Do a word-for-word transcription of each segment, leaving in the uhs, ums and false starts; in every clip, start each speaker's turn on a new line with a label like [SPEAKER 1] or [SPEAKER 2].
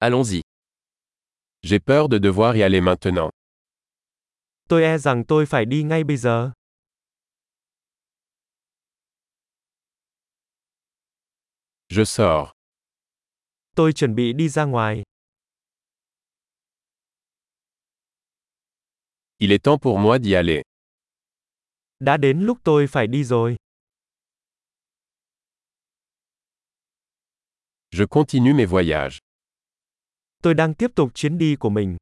[SPEAKER 1] Allons-y.
[SPEAKER 2] J'ai peur de devoir y aller maintenant.
[SPEAKER 3] Tôi e rằng tôi phải đi ngay bây giờ.
[SPEAKER 2] Je sors.
[SPEAKER 3] Tôi chuẩn bị đi ra ngoài.
[SPEAKER 2] Il est temps pour moi d'y aller.
[SPEAKER 3] Đã đến lúc tôi phải đi rồi.
[SPEAKER 2] Je continue mes voyages.
[SPEAKER 3] Tôi đang tiếp tục chuyến đi của mình.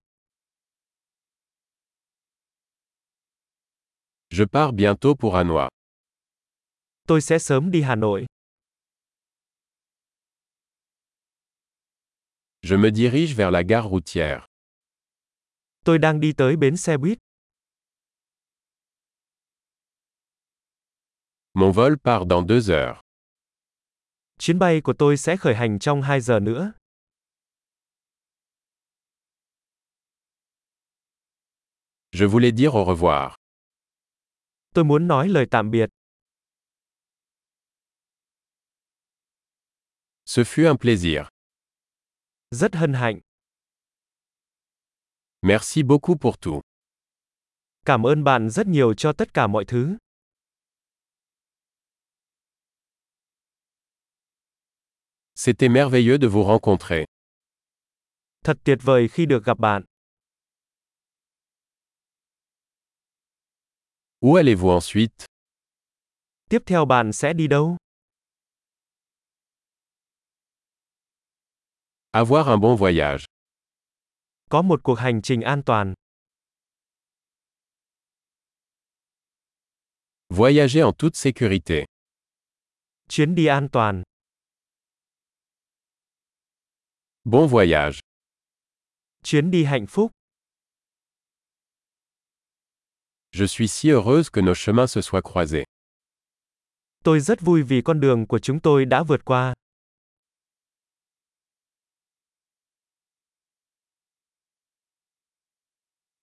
[SPEAKER 2] Je pars bientôt pour Hanoï.
[SPEAKER 3] Tôi sẽ sớm đi Hà Nội.
[SPEAKER 2] Je me dirige vers la gare routière.
[SPEAKER 3] Tôi đang đi tới bến xe buýt.
[SPEAKER 2] Mon vol part dans deux heures.
[SPEAKER 3] Chuyến bay của tôi sẽ khởi hành trong hai giờ nữa.
[SPEAKER 2] Je voulais dire au revoir.
[SPEAKER 3] Tôi muốn nói lời tạm biệt.
[SPEAKER 2] Ce fut un plaisir.
[SPEAKER 3] Rất hân hạnh.
[SPEAKER 2] Merci beaucoup pour tout.
[SPEAKER 3] Cảm ơn bạn rất nhiều cho tất cả mọi thứ.
[SPEAKER 2] C'était merveilleux de vous rencontrer.
[SPEAKER 3] Thật tuyệt vời khi được gặp bạn.
[SPEAKER 2] Où allez-vous ensuite?
[SPEAKER 3] Tiếp theo bạn sẽ đi đâu?
[SPEAKER 2] Avoir un bon voyage.
[SPEAKER 3] Có một cuộc hành trình an toàn.
[SPEAKER 2] Voyager en toute sécurité.
[SPEAKER 3] Chuyến đi an toàn.
[SPEAKER 2] Bon voyage.
[SPEAKER 3] Chuyến đi hạnh phúc.
[SPEAKER 2] Je suis si heureuse que nos chemins se soient croisés.
[SPEAKER 3] Tôi rất vui vì con đường của chúng tôi đã vượt qua.